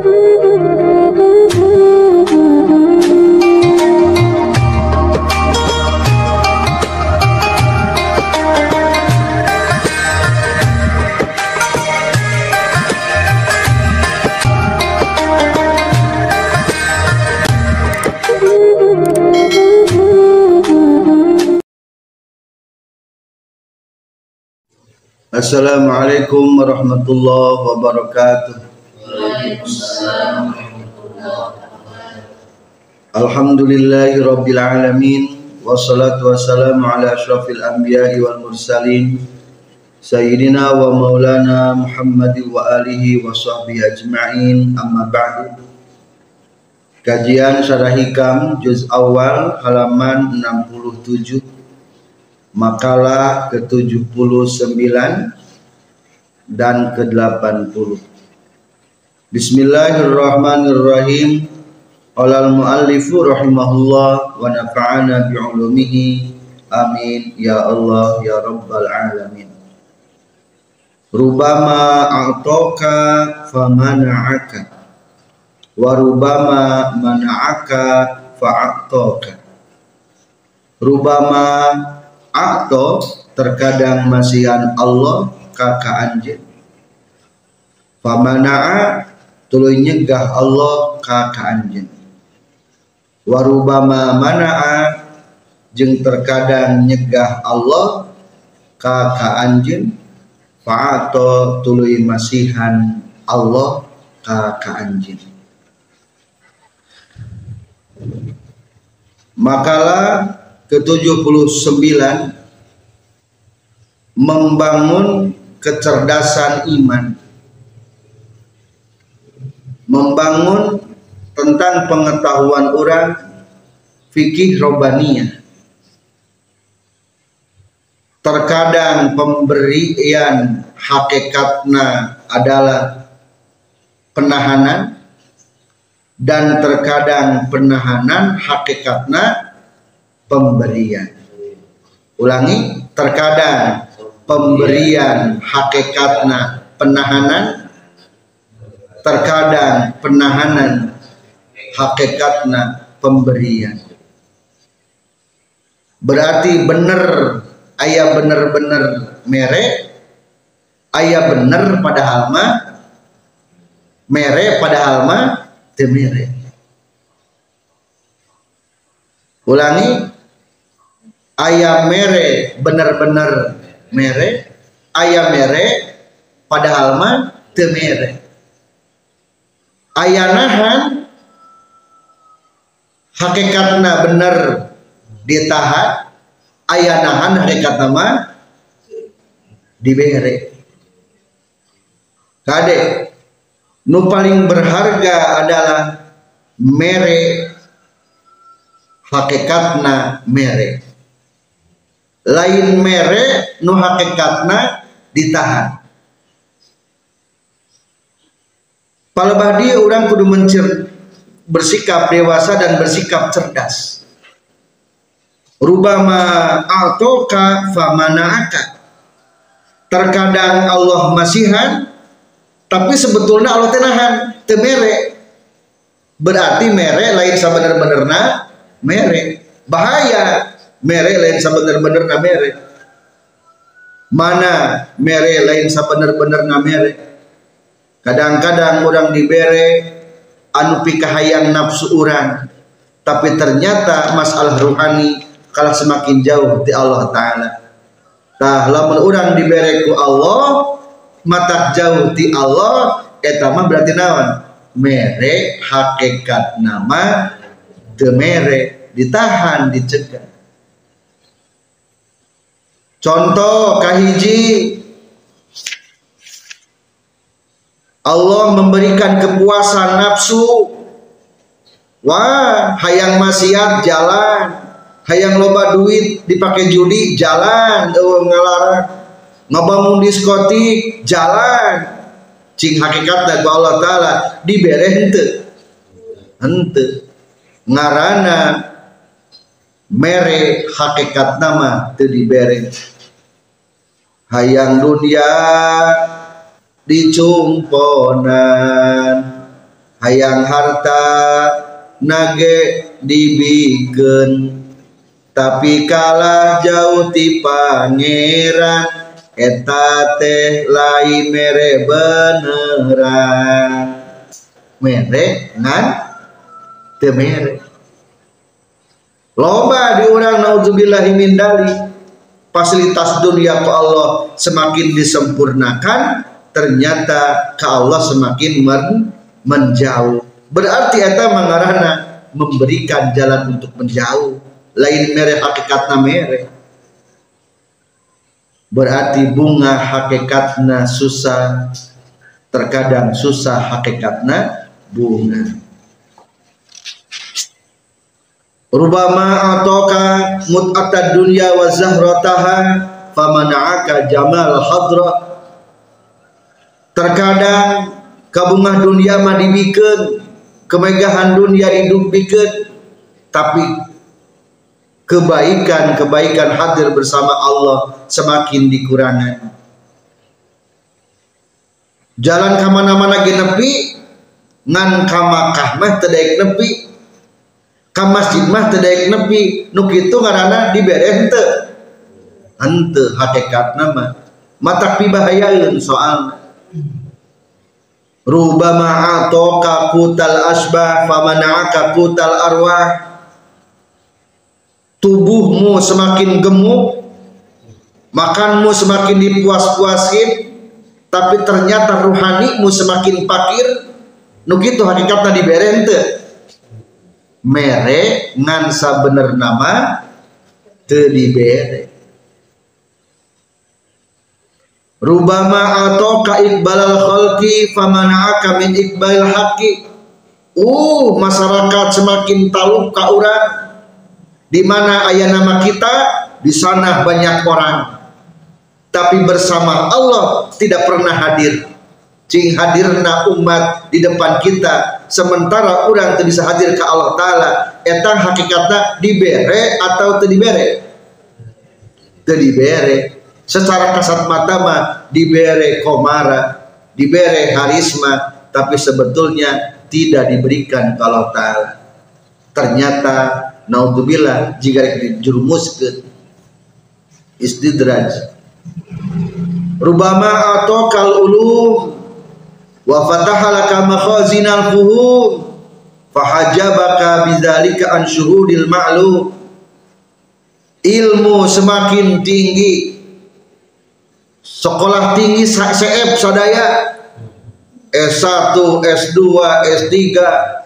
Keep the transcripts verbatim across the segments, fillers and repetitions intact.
Assalamualaikum warahmatullahi wabarakatuh. Alhamdulillahi rabbil alamin, wassalatu wassalamu ala asyrafil anbiya'i wal mursalin sayyidina wa maulana Muhammadin wa alihi wa sahbihi ajma'in, amma ba'du. Kajian Syarah Hikam juz awal halaman enam puluh tujuh, makalah ke tujuh puluh sembilan dan ke delapan puluh. Bismillahirrahmanirrahim. Qala al-muallifu rahimahullah wa nafa'ana bi'ulumihi, amin ya Allah ya rabbal alamin. Rubama a'taka famana'aka wa rubama mana'aka fa'ataka. Rubama atau terkadang masihan Allah kaka anjeun, famana'a tuluy nyegah Allah kaka anjeun, warubama mana'a jeung terkadang nyegah Allah kaka anjeun, fa'ato tuluy masihan Allah kaka anjeun. Makalah ke tujuh puluh sembilan, membangun kecerdasan iman, membangun tentang pengetahuan orang fikih robaniyah. Terkadang pemberian hakikatna adalah penahanan, dan terkadang penahanan hakikatna pemberian. Ulangi, terkadang pemberian hakikatna penahanan, terkadang penahanan hakikatna pemberian. Berarti bener, aya bener-bener mere, aya bener padahal mah mere, padahal mah teu mere. Ulangi, aya mere bener-bener mere, aya mere padahal mah teu mere. Aya nahan hakikatna bener ditahan, aya nahan hakikatna mah dibere. Kade nu paling berharga adalah mere, hakikatna mere. Lain mere nu hakikatna ditahan. Palebah dia orang kudu mencer bersikap dewasa dan bersikap cerdas. Rubama a'toka famana'aka. Terkadang Allah masihan, tapi sebetulnya Allah tenahan, teu mere. Berarti mere lain sabener-benerna mere. Bahaya. Mere lain sabener-benerna mere. Mana mere lain sabener-benerna mere. Kadang-kadang orang dibere anu pikahayang nafsu urang, tapi ternyata masalah rohani kalah semakin jauh di Allah Ta'ala. Tah lamun urang dibere ku Allah matak jauh di Allah, eta mah berarti naon? Mere hakikat nama teu mere, ditahan, dicegah. Contoh kahiji, Allah memberikan kepuasan nafsu. Wah, hayang maksiat jalan, hayang loba duit dipakai judi jalan, eueuh ngalarang. Ngabangun diskotik jalan. Cing hakikatna ku Allah Ta'ala dibere henteu. Henteu. Ngaranna mere hakikat nama teu dibere. Hayang dunia dicumponan, hayang harta nage dibikeun tapi kalah jauh ti pangeran eta teh lain mere beneran mere ngan teu mere. Loba di urang naudzubillahi min dalik fasilitas dunia ku Allah semakin disempurnakan, ternyata ke Allah semakin men menjauh. Berarti eta mangarana memberikan jalan untuk menjauh. Lain mere hakikatna mere. Berarti bunga hakikatna susah, terkadang susah hakikatna bunga. Rubama atoka mut'atad dunya wa zahrataha famana'aka jamal hadra. Terkadang kabungah dunia mah dibikeun, kemegahan dunia didubikeun, tapi kebaikan-kebaikan hadir bersama Allah semakin dikurangan. Jalan ka mana-mana ge nepi, ngan ka Makkah mah teu daek nepi. Ka masjid mah teu daek nepi, nu kitu ngaranna dibere henteu. Henteu hakikatna mah matak pibahayaeun soalna. Rubama atoka kutal asbah famana'aka kutal arwah. Tubuhmu semakin gemuk, makanmu semakin dipuas-puasin, tapi ternyata ruhanimu semakin fakir. Nu kitu hakikatna dibere henteu. Mere ngan sabener nama teu dibere. Rubama atoka iqbalal khalqi famana'aka min iqbalil haqqi. Uh, masyarakat semakin taluk ka urang. Di mana aya nama kita, di sana banyak orang. Tapi bersama Allah tidak pernah hadir. Cing hadirna umat di depan kita, sementara orang teu bisa hadir ke Allah Ta'ala. Etang hakikatna dibere atau teu dibere? Teu dibere. Secara kasat mata mah dibere komara, dibere harisma, tapi sebetulnya tidak diberikan ke Allah Ta'ala. Ternyata naudzubillah jika dijerumuskeun istidraj. Rubama atokal ulum wa fataha laka makhazinal fuhum fahajabaka bidzalika an syuhudil ma'lum. Ilmu semakin tinggi, sekolah tinggi seep sadaya, S satu, S dua, S tiga,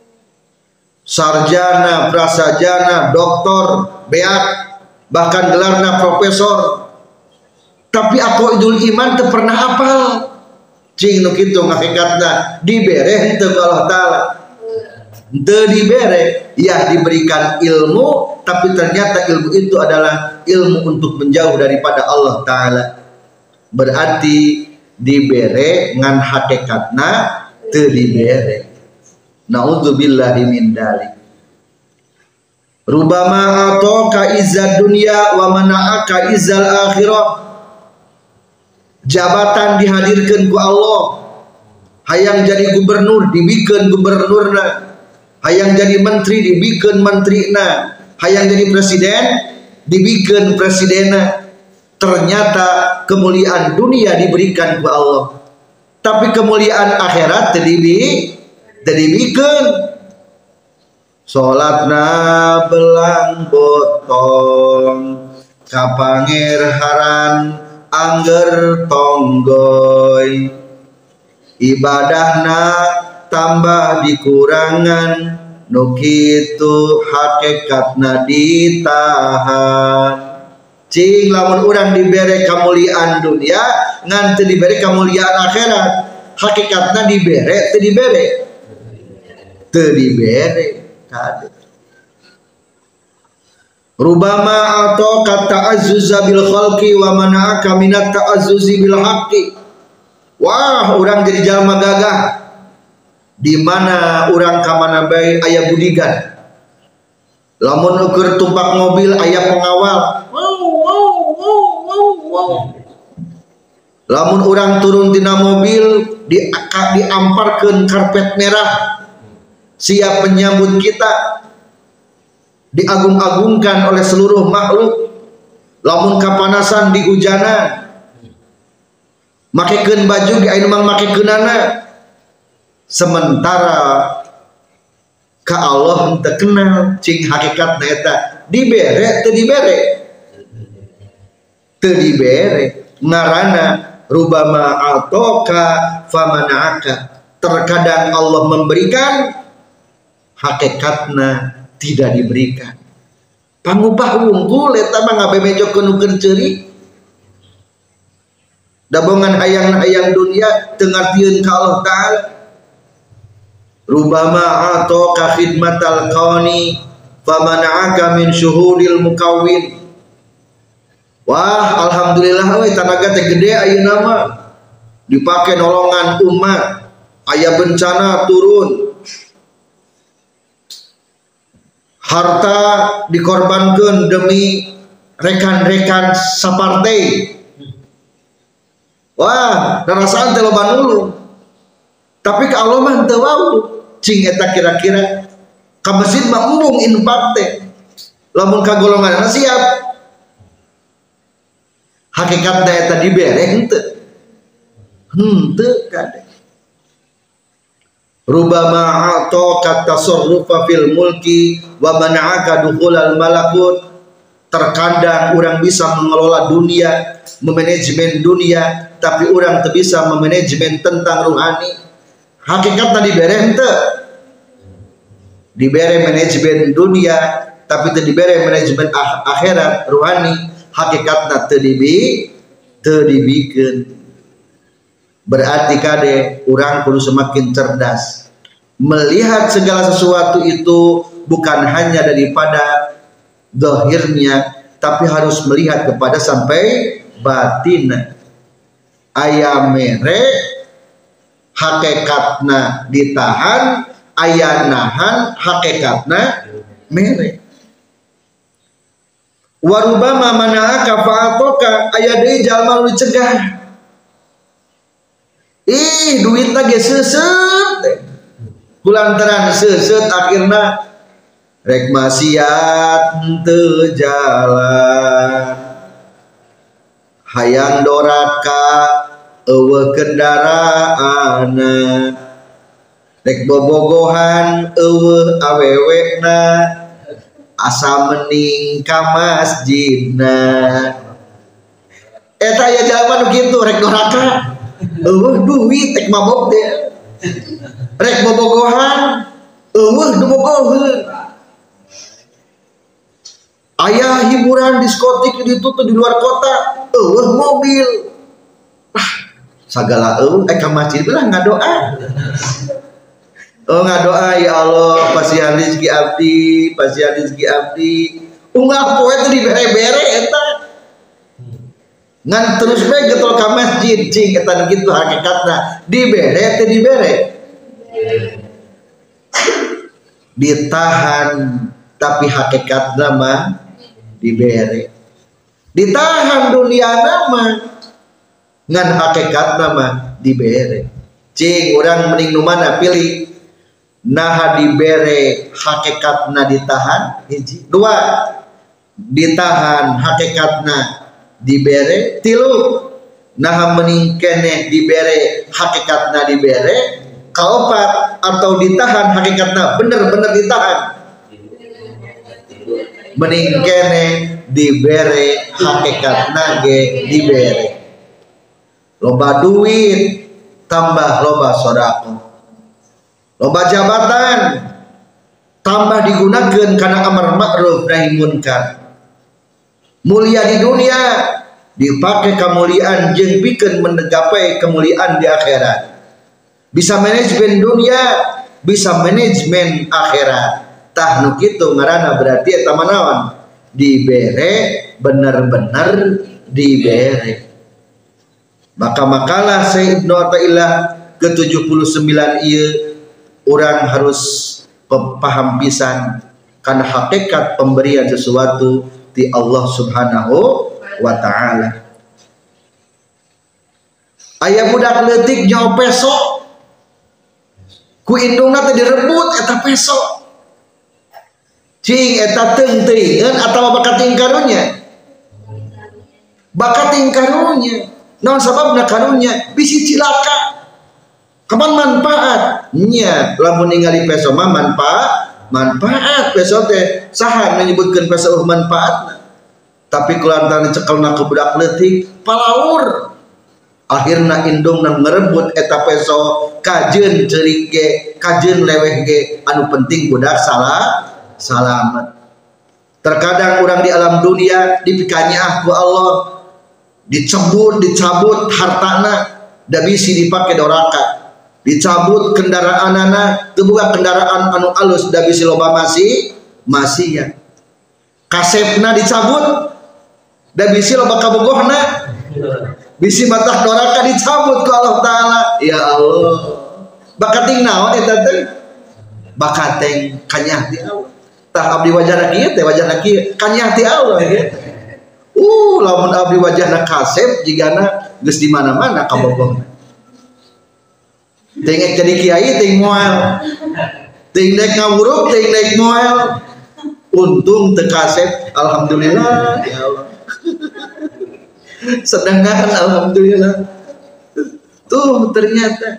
sarjana, prasarjana, doktor, beat, bahkan gelarna profesor. Tapi aku idul iman teu pernah hafal. Cing nu kitu ngahikatna dibere henteu ku Allah Ta'ala. Teu dibere, ya diberikan ilmu, tapi ternyata ilmu itu adalah ilmu untuk menjauh daripada Allah Ta'ala. Berarti dibere ngan hakikatna teu dibere. Naudzubillahi min dalik. Rubama atoka izzad dunya wa mana'aka izzal akhirah. Jabatan dihadirkan ku Allah, hayang jadi gubernur dibikeun gubernurna, hayang jadi menteri dibikeun menterina, hayang jadi presiden dibikeun presidenna. Ternyata kemuliaan dunia diberikan ku Allah, tapi kemuliaan akhirat teu dibikeun. Salatna belang botong kapangirharan angger tonggoy, ibadahna tambah dikurangan, nu kitu hakikatna ditahan. Cing lamun urang dibere kamuliaan dunia ngan teu dibere kamuliaan akhirat, hakikatna dibere teu dibere? Teu dibere kade. Rubama atau kata azzuza bil khalqi wa mana'aka minat ta'azzuzi bil haqqi. Wah, orang jadi jalma gagah. Di mana orang ka mana bae aya budigan. Lamun ukur tumpak mobil aya pengawal. Wow wow wow wow wow. Lamun orang turun dina mobil di diamparkeun karpet merah siap menyambut kita, diagung-agungkan oleh seluruh makhluk. Lamun kapanasan di hujanan makekeun baju ge aya nu makekeunana, sementara ka Allah teu kenal cing hakikatna eta dibere teu dibere teu dibere. Ngaranna rubama atoka famana'aka, terkadang Allah memberikan, hakikatna tidak diberikan. Pangupah wungkul eta mah ngabemejokeun nu keur ceuri. Dabongan hayang-hayang dunia teu ngartieun ka Allah taala. Rubama atoka khidmatal qawni famana'aka min syuhudil mukawwin. Wah, alhamdulillah we tanaga teh gede ayeuna mah dipake nolongan umat, aya bencana turun, harta dikorbankan demi rekan-rekan sapartei. Wah, narasaan teh loba nulung. Tapi ka Allah mah teu wau. Cing eta kira-kira ka masjid mah embung infak teh. Lamun ka golonganna siap. Hakikatna eta dibere henteu. Henteu kade. Rubama a'taka tasarrufa fil mulki wa mana'aka dukhulal malakut. Terkadang orang bisa mengelola dunia, memanajemen dunia, tapi orang tidak bisa memanajemen tentang ruhani. Hakikatnya dibere henteu. Dibere manajemen dunia, tapi tidak dibere manajemen akhirat ruhani. Hakikatnya teu dibi teu dibikeun. Berarti kade orang perlu semakin cerdas melihat segala sesuatu itu bukan hanya daripada zahirnya, tapi harus melihat kepada sampai batin. Aya mere hakikatna ditahan, aya nahan hakikatna mere. Warubama mana'aka fa'atoka, aya deui jalma nu dicegah. Ih, duitna ge seuseut teh. Kulantaran seuseut akhirna rek maksiat teu jalan. Hayang doraka eueuh kendaraana. Rek bobogohan eueuh awewena. Asa mending ka masjidna. Eta aya jalma nu kitu rek doraka eueuh duit tek mabok teh. Rek bobogohan eueuh nu bogoheun. Aya hiburan diskotik di ditu di luar kota eueuh mobil. Ah, sagala eueuh eh ka masjid bilang ngadoa. Oh ngadoa, ya Allah pasihan rezeki abdi, pasihan rezeki abdi. Ungah poe teh dibere-bere eta. Ngan terus bae getol ka masjid cing eta kitu hakikatna. Dibere teh dibere. Ditahan tapi hakikatna mah dibere. Ditahan duniana mah ngan hakikatna mah dibere. Cing urang mending nu mana pilih? Nah dibere hakikatna ditahan hiji, dua ditahan hakikatna dibere, tilu nah mending keneh dibere hakikatna dibere, kaopat atau ditahan hakikatna bener-bener ditahan, mending keneh dibere hakikatna ge dibere. Loba duit tambah loba sodaqah. Loba jabatan tambah digunakan karena amar ma'ruf nahi munkar. Mulia di dunia dipakai kemuliaan jeung pikeun mengapai kemuliaan di akhirat. Bisa manajemen dunia, bisa manajemen akhirat. Tah nu kitu ngaranna berarti eta manaon? Dibere bener-bener dibere. Maka makalah Syekh Ibnu Athaillah ke tujuh puluh sembilan ieu orang harus paham pisan karena hakikat pemberian sesuatu di Allah Subhanahu wa ta'ala. Aya budak leutik nyawa peso ku indungna teh direbut eta peso cing eta teung teuingeun atawa bakat ting karunya bakat ting karunya naon sababna karunya bisi cilaka kapan manfaat nya lamun ningali peso mah manfaat manfaat peso teh saha menyebutkeun peso manfaatna tapi kulantaran cekelna ku budak leutik palaur akhirna indungna ngerebut eta peso kajeun ceurik ge kajeun leweh ge anu penting budak salah salamet. Terkadang orang di alam dunia dipikanya ku Allah dicebut dicabut hartana da bisi dipake doraka dicabut kendaraanana teu boga kendaraan anu alus da bisi loba masih masih ya kasepna dicabut da bisi loba kabogohna bisi batah doraka dicabut ku Allah Ta'ala ya Allah bakating naon eta teh bakating kanyah ti Allah tah abdi wajahna kieu teh wajahna kieu kanyah ti Allah gitu. Uh lamun abdi wajahna kasep jigana geus di mana-mana kabogohna teu ngek jadi kiai teu moal teu nek ngawuruk teu nek moal untung teu kasep alhamdulillah ya Allah sedangkan alhamdulillah tuh ternyata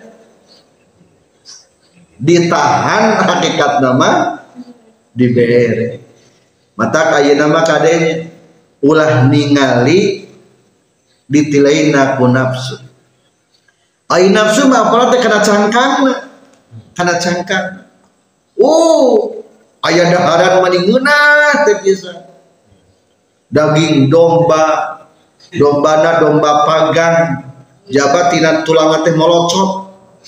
ditahan hakikat nama dibere mata kaya nama kadenya ulah ningali ditilaina ku nafsu ai nafsu mah apalah teh kana cangkangna kana cangkang oh aya daharan mani ngeunah teh bisa daging domba dombana domba panggang jabat tina tulang teh molocot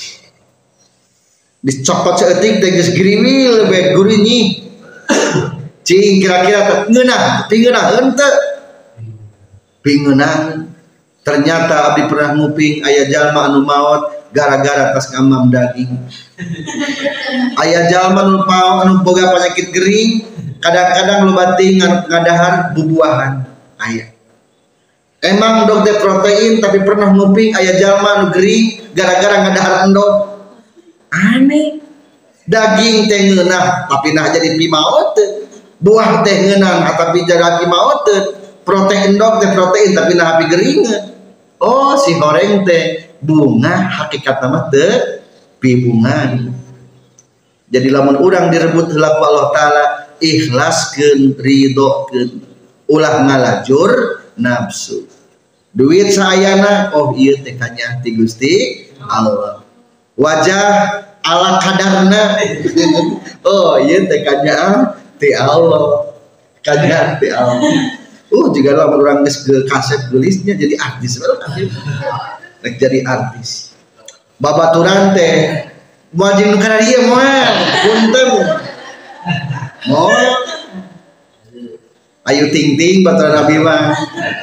dicopot seeutik teh geus giriwil bae gurinyi cing kira-kira teh ngeunah pingeunah henteu pingeunah ternyata abdi pernah nguping aya jalma anu maot gara-gara tas ngamam daging aya jalma anu maot anu boga penyakit gering kadang-kadang loba ting ngadahar bubuahan aya emang dog teh protein tapi pernah nguping aya jalma anu gering gara-gara ngadahar endog aneh daging teh ngeunah tapi nah jadi pimaoteun buah teh ngeunah tapi jadi pimaoteun protein endog teh protein tapi nah api geringeun oh si horeng teh bunga hakikat nama teh pibungan jadi lamun urang direbut heula ku Allah Ta'ala ikhlaskeun ridhokeun ulah ngalajur nafsu duit saayana oh ieu teh kanya ti Gusti Allah wajah ala kadarna oh ieu teh kanya ti Allah kanya ti Allah uh juga lamun urang geus ke kaset gelisnya jadi artis rek jadi artis babaturan teh moal jeung nu kana dieu moal punten moal Ayu Ting Ting baturan Nabi mah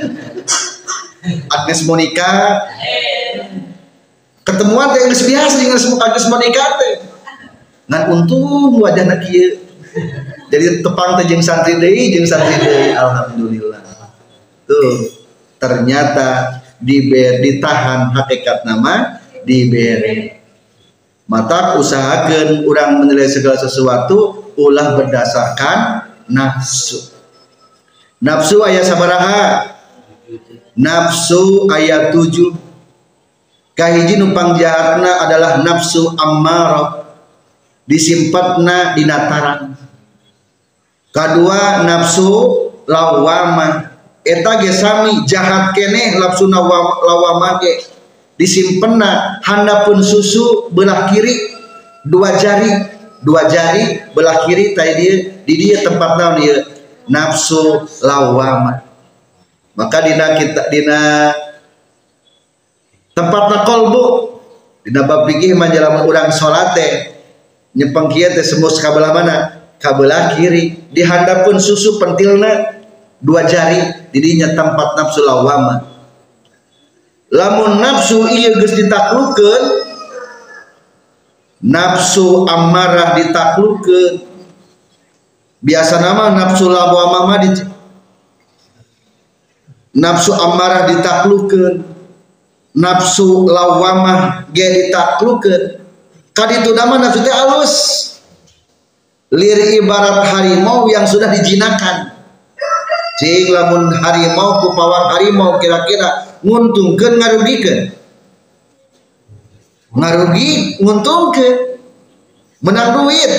Agnes Monica ketemuan teh geus biasa jeung Agnes Monica teh ngan untung wajahna kieu jadi tepang teh jeung santri deui jeung santri deui alhamdulillah tuh ternyata diber ditahan hakikat nama dibere mata usahakeun urang menilai segala sesuatu ulah berdasarkan nafsu nafsu aya sabaraha nafsu aya tujuh kahiji nu pangjahatna adalah nafsu ammarah disimpatna dina tarang kadua nafsu lawamah eta ge sami jahat keneh nafsu lawamah ge disimpenna handapun susu belah kiri dua jari dua jari belah kiri tadi dia di dia tempat naon ieu nafsu lawamah maka dina kita dina tempatna kolbu dina bab fikih manjalaman urang salat teh nyepeng kieu teh sembus ka belah mana ka belah kiri dihandapkeun susu pentilna dua jari didinya tempat nafsu lawamah lamun nafsu ieu geus ditaklukkeun nafsu ammarah ditaklukkeun biasa nama nafsu lawamah mah di nafsu ammarah ditaklukkeun nafsu lawamah ge ditaklukeun kaditu nama nafsu teh alus lir ibarat harimau yang sudah dijinakan. Cing lamun harimau ku pawang harimau kira-kira nguntungkeun ngarugikeun? Ngarugi nguntungkeun, menang duit.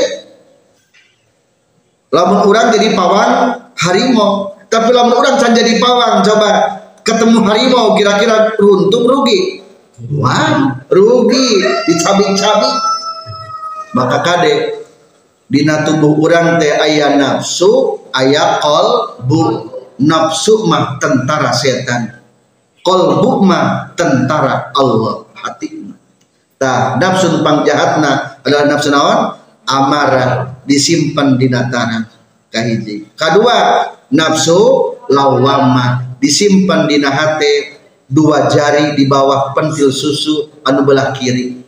Lamun urang jadi pawang harimau, tapi lamun urang can jadi pawang, coba ketemu harimau kira-kira untung rugi? Wah, rugi, dicabik-cabik. Maka kade dina tubuh urang teh aya nafsu, aya qalbu. Nafsu mah tentara setan, qalbu mah tentara Allah, hati mah. Tah nafsu pangjahatna adalah nafsu naon? Amarah, disimpan di tanah kahiji. Kadua nafsu lawamah, disimpan di hate dua jari di bawah pentil susu anu belah kiri.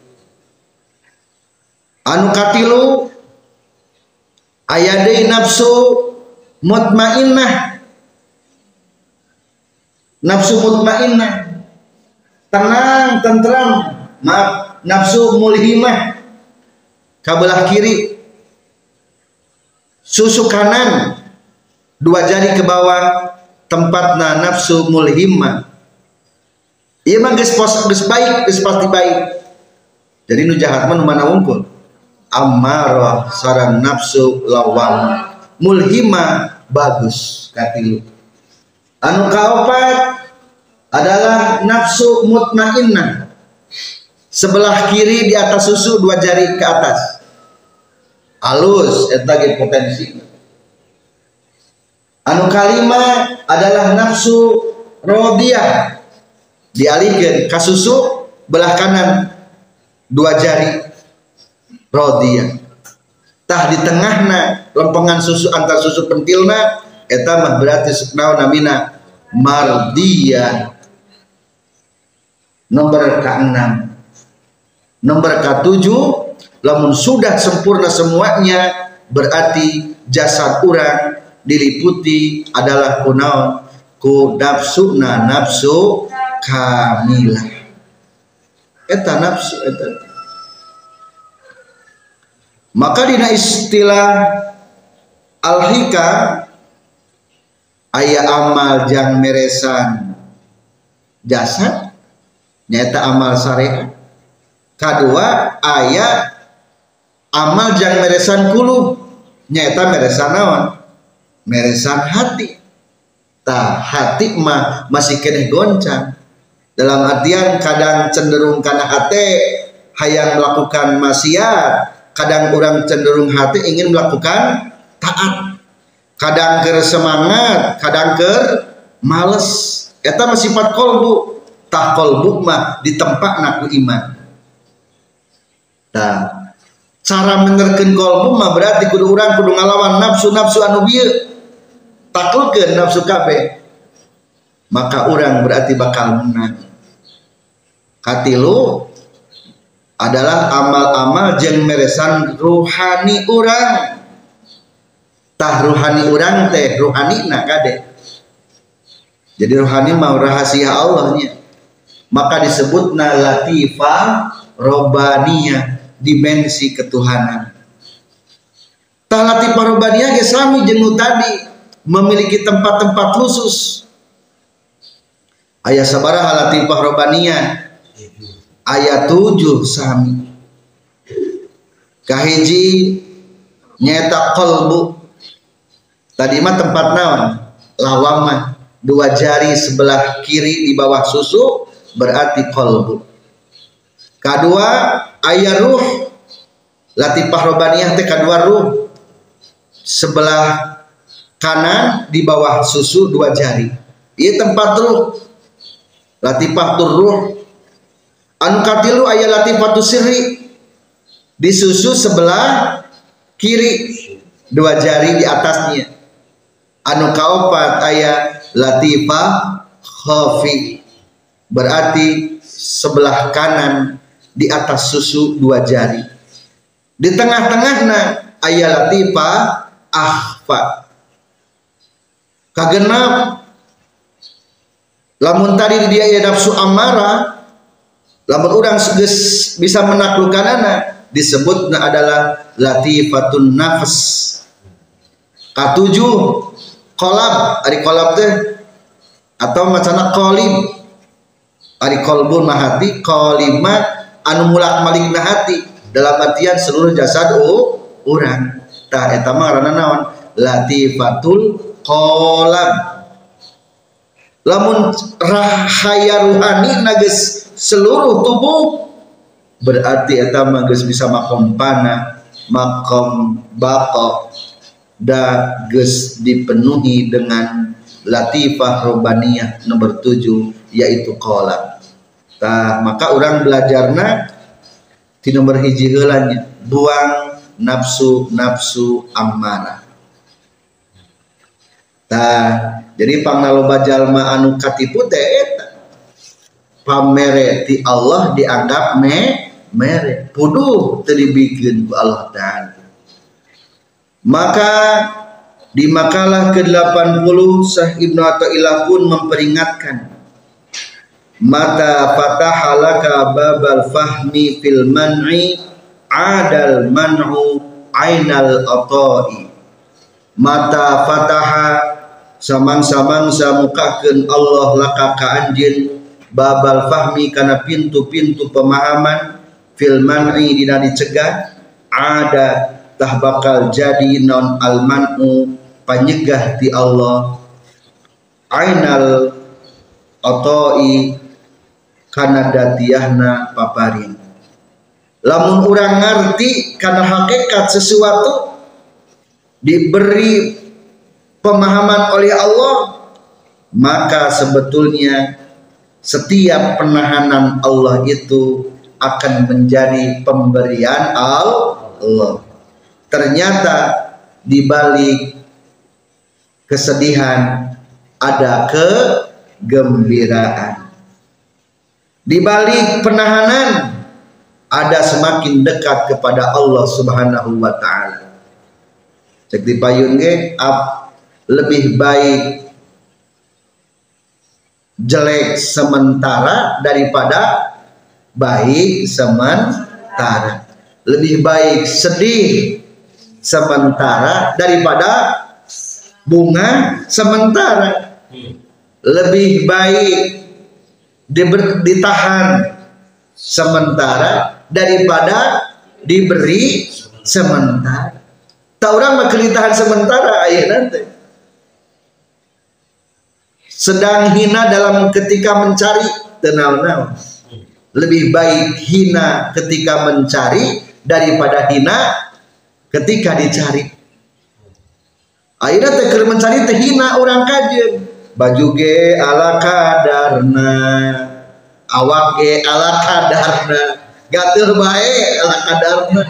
Anu katilu aya deui nafsu mutmainnah. Nafsu mutmainnah tenang, tentram, maaf, nafsu mulhimah kabelah kiri, susu kanan dua jari ke bawah tempatna nafsu mulhimah. Ieu mah geus pos geus baik, geus pasti baik. Jadi nu jahat mah nu mana wungkul? Ammarah sareng nafsu lawamah. Mulhimah bagus katilu. Anu kaopat adalah nafsu mutmainnah. Sebelah kiri di atas susu dua jari ke atas. Alus eta ge potensi. Anu kalima adalah nafsu rodiyah. Dialihkeun ka susu belah kanan dua jari rodiyah. Tah di tengahna lempengan susu antar susu pentilna eta mah berarti naon namina mardiyah. Nomor keenam. Nomor ketujuh, lamun sudah sempurna semuanya berarti jasad urang diliputi adalah kunaon? Ku nafsuna nafsu kamilah. Eta nafsu eta. Maka dina istilah al-hikam aya amal jang meresan jasad nyata amal syariat. Kadua aya amal jang meresan kulub nyata meresan naon? Meresan hati. Tah hati mah masih keneh goncang. Dalam artian kadang cenderung kana hate hayang melakukan maksiat, kadang orang cenderung hati ingin melakukan taat. Kadang ker semangat, kadang ker males. Eta mah sifat kolbu. Tah kolbu mah ditempakna ku iman. Tah cara menerkeun kolbu mah berarti kudu urang kudu ngalawan nafsu-nafsu anu bieu. Taklukkeun nafsu kabeh. Maka urang berarti bakal menang. Katilu adalah amal-amal jeung meresan ruhani urang. Tah ruhani urang teh ruhanina kade. Jadi ruhani mau rahasia Allahnya. Maka disebutna latifah robbaniyah, dimensi ketuhanan. Tah latifah robbaniyah ge sami jeung nu tadi, memiliki tempat-tempat khusus. Aya sabaraha latifah robbaniyah? Aya tujuh sami. Kahiji nyata qalbu. Tadi mah tempat naon? Lawamah, dua jari sebelah kiri di bawah susu berarti qalbu. Kedua aya ruh. Latifah robbaniyah teh kadua ruh. Sebelah kanan di bawah susu dua jari. Ieu tempat ruh. Latifatul ruh. Anu katilu aya latifatus sirri. Di susu sebelah kiri dua jari di atasnya. Anu kaopat aya latifah khafi, berarti sebelah kanan di atas susu dua jari. Di tengah-tengahna aya latifah akhfa. Kagenap lamun tadi dia aya nafsu amarah, Lamun urang geus bisa menaklukkanana disebutna adalah latifatun nafs. Katujuh kolab, ari kolab teh atau macana qalib. Ari qalbun mahati, qalima anu mulak malik na hati dalam artian seluruh jasad oh urang. Tah eta mah ngaranna naon? Latifatul qalab. Lamun rahaya ruhani nages seluruh tubuh berarti eta mah geus bisa makom pana, makom baqa da geus dipenuhi dengan latifah robaniyah nomor tujuh yaitu qalab. Tah maka orang belajarna di nomor hiji heula nya buang nafsu-nafsu ammarah. Tah jadi pangnaloba jalma anu katipu teh eta pamere ti Allah dianggap me mere puduh teu dibikeun ku Allah Ta'ala. Maka di makalah ke delapan puluh Syekh Ibnu Athaillah pun memperingatkan, mata fataha laka babal fahmi fil man'i adal man'u ainal ata'i. Mata fataha samang-samang samukakeun Allah laka ka anjeun babal fahmi kana pintu-pintu pemahaman fil man'i dina dicegah ada tah bakal jadi non al man'u panyegah ti Allah ainal ata'i kana datiahna paparin. Lamun urang ngarti kana hakikat sesuatu diberi pemahaman oleh Allah, maka sebetulnya setiap penahanan Allah itu akan menjadi pemberian Allah. Ternyata di balik kesedihan ada kegembiraan. Di balik penahanan ada semakin dekat kepada Allah Subhanahu wa taala. Cek dipayun ge lebih baik jelek sementara daripada baik sementara. Lebih baik sedih sementara daripada bunga sementara. Lebih baik ditahan sementara daripada diberi sementara. Tak orang mah kelitahan sementara ayah nanti. Sedang hina dalam ketika mencari tenau-nau. Lebih baik hina ketika mencari daripada hina ketika dicari. Akhirnya teh mencari teh hina orang kajen. Baju ge ala kadarna, awak ge ala kadarna, gatel bae ala kadarna.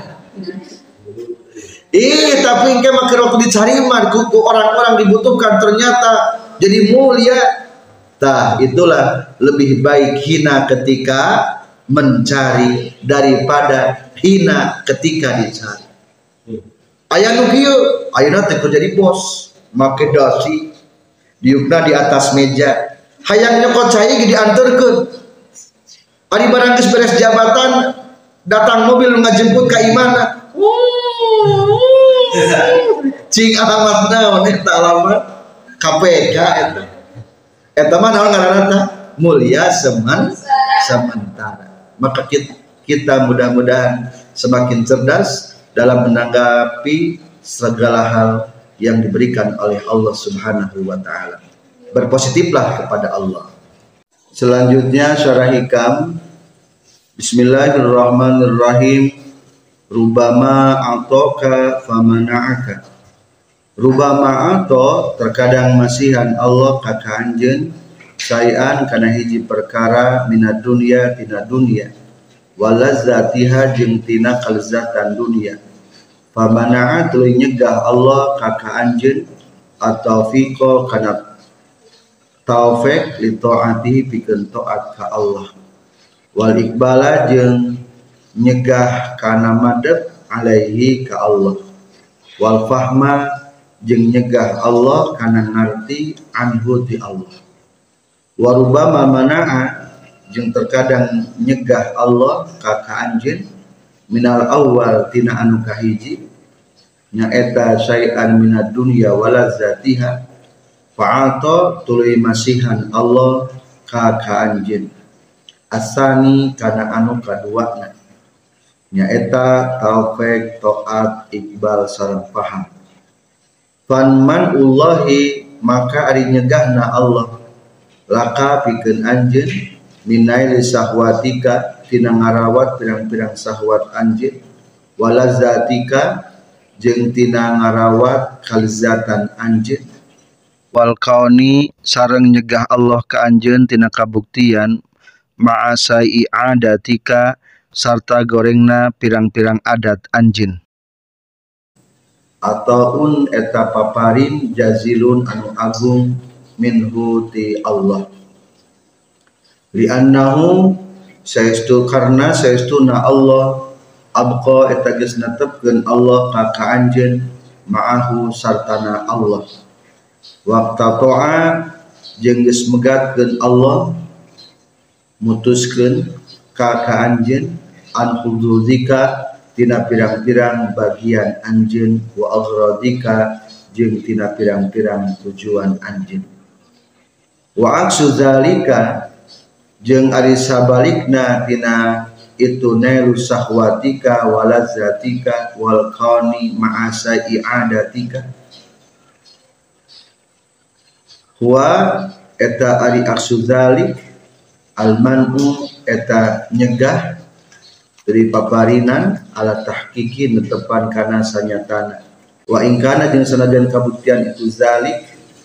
Ih, tapi engke mah keur dicari mah ku orang-orang dibutuhkan ternyata jadi mulia. Tah itulah lebih baik hina ketika mencari daripada hina ketika dicari. Aya nu kieu, ayeuna teh kerja di bos, make dasi, diukna di atas meja. Hayang nyokot cai ge dianterkeun. Ari barang geus beres jabatan, datang mobil ngajemput ka imana. Cing alamat naon eta alamat K P K eta. Eta mah naon ngaranna teh? Mulia semen sementara. Maka kita, kita mudah-mudahan semakin cerdas dalam menanggapi segala hal yang diberikan oleh Allah Subhanahu wa taala. Berpositiflah kepada Allah. Selanjutnya syarah hikam. Bismillahirrahmanirrahim. Rubama atoka famana'aka. Rubama ato terkadang masihan Allah ka anjeun sayan kana hiji perkara minad dunya tina dunya walazzatiha jeung tina kalezatan dunya. Famana'a tuluy nyegah Allah ka anjeun atau fiqo kana taufik li taati pikeun taat ka Allah. Wal iqbala jeung nyegah kana madep alaihi ka Allah. Wal fahma jeung nyegah Allah kana ngarti anhu ti Allah. Warubama mana'a jeung terkadang nyegah Allah ka ka anjeun minal awal tina anu kahiji nyaeta syai'an minad dunya walazatiha fa'ata tuluy masihan Allah ka ka anjeun asani kana anu kaduana nyaeta taufik taat iqbal sareng paham fanman ullahi maka ari nyegahna Allah laka pikeun anjeun minaili sahwatika tina ngarawat pirang-pirang sahwat anjeun walazatika jeung tina ngarawat kalzatan anjeun wal kauni sareng nyegah Allah ka anjeun tina kabuktian ma'asai adatika sarta gorengna pirang-pirang adat anjeun ataun eta paparin jazilun anu agung minhu ti Allah li annahu saestu karna saestuna Allah abqa eta geus netepkeun Allah ka ka anjeun ma'ahu sartana Allah waqtata'a jeung geus megatkeun Allah mutuskeun ka ka anjeun an huduzika tina pirang-pirang bagian anjeun wa aghradika jeung tina pirang-pirang tujuan anjeun wa aksu zalika jeung ari sabalikna tina itu nailu sahwatika walazzatika wal kauni ma'asa i'adatika huwa eta ari aksu zalik al-man'u eta nyegah dari paparinan ala tahqiqi netepan kana sanyatana wa ingkana jeung sanajan kabuktian itu zalik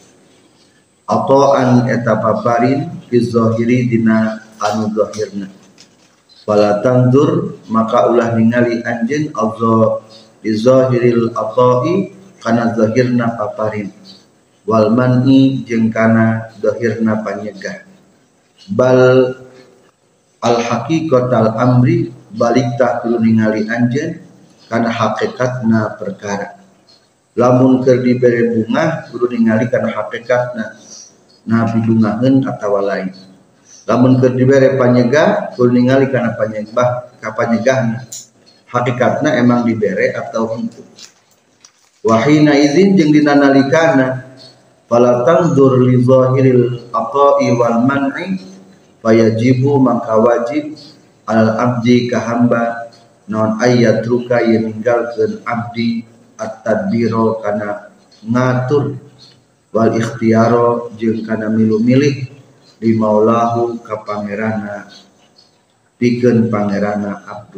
ata'an eta paparin fi zahiri dina anu zahirna wala tandur maka ulah ningali anjeun azza bi zahiril ata'i kana zahirna paparin wal man'i jeung kana zahirna panyegah bal al haqiqatal amri balik tak kudu ningali anjeun kana hakikatna perkara lamun keur dibere bunga kudu ningali kana hakikatna nabi bungaheun atawa lain lamun keur dibere panyegah kudu ningali kana panyegah ka panyegahna hakikatna emang dibere atau henteu wahina izin jeung dina nalikana fala tandur li zahiril ata'i wal man'i fayajibu maka wajib al abdi ka hamba naon ayat ruka yang ninggalkeun abdi at-tadbiro kana ngatur wal ikhtiyaro jeung kana milu-milih di maulahu ka pangerana pikeun pangerana abdu.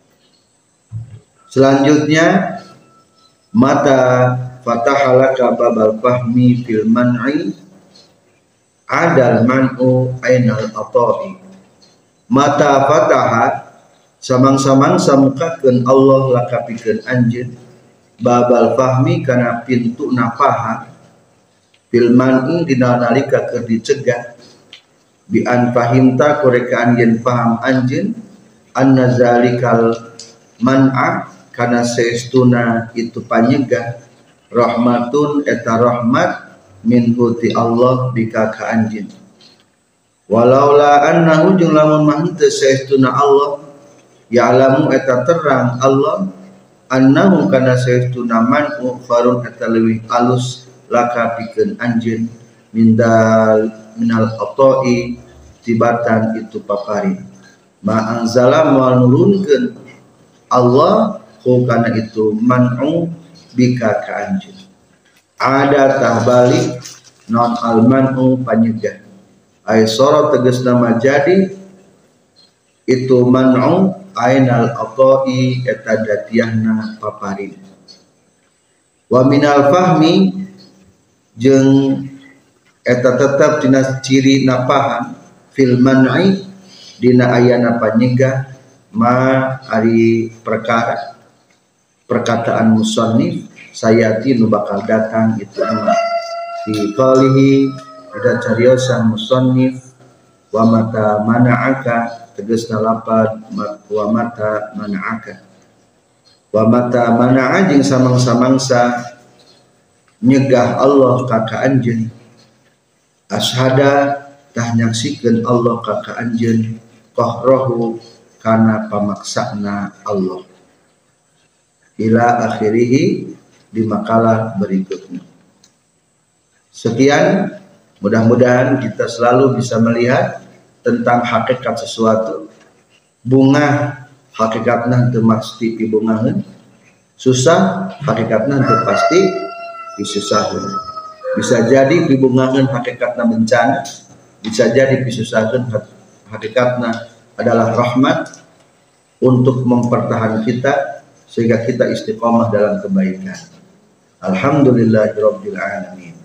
Selanjutnya mata fatahalaka babal fahmi fil man'i adal man'u ainal ata'i mata fataha samang-samang samukakeun Allah laka pikeun anjeun babal fahmi kana pintu napaha fil man'i dina nalika keur dicegah bi an fahimta korekaan yen paham anjeun anna zalikal man'a kana saestuna itu panyegah rahmatun eta rahmat min huti Allah bika ka anjeun walaula annahu jeung lamun mah teu saestuna Allah ya'lamu eta terang Allah annahu kana saestuna man'u farun eta leuwih alus laka pikeun anjeun mindal minal ata'i tibatan itu papari ma anzala moal nurunkeun Allah ku kana itu man'u bika ka anjeun ada tahbalik non almanu panyegah ay soro tegas nama jadi itu man'u ainal ata'i eta datiahna paparin wa minal fahmi jeung eta tetap dina ciri napahan fil man'i dina ayana panyegah ma ari perkara perkataan musannif sayati nu bakal datang itu nama fi qalihi ada cariosan musannif wa mata mana'aka tegasna lapad wa mata mana'aka wa mata mana'a jeung samang-samangsa nyegah Allah ka ka anjeun ashada tah nyaksikeun Allah ka ka anjeun qahrahu kana pamaksana Allah. Ila akhirih di makalah berikutnya. Sekian, mudah-mudahan kita selalu bisa melihat tentang hakikat sesuatu. Bunga hakikatna teu pasti pibungaheun, susah hakikatna teu pasti pisusaheun. Bisa jadi pibungaheun hakikatna bencana, bisa jadi pisusaheun hakikatna adalah rahmat untuk mempertahankan kita sehingga kita istiqomah dalam kebaikan. Alhamdulillahirabbil alamin.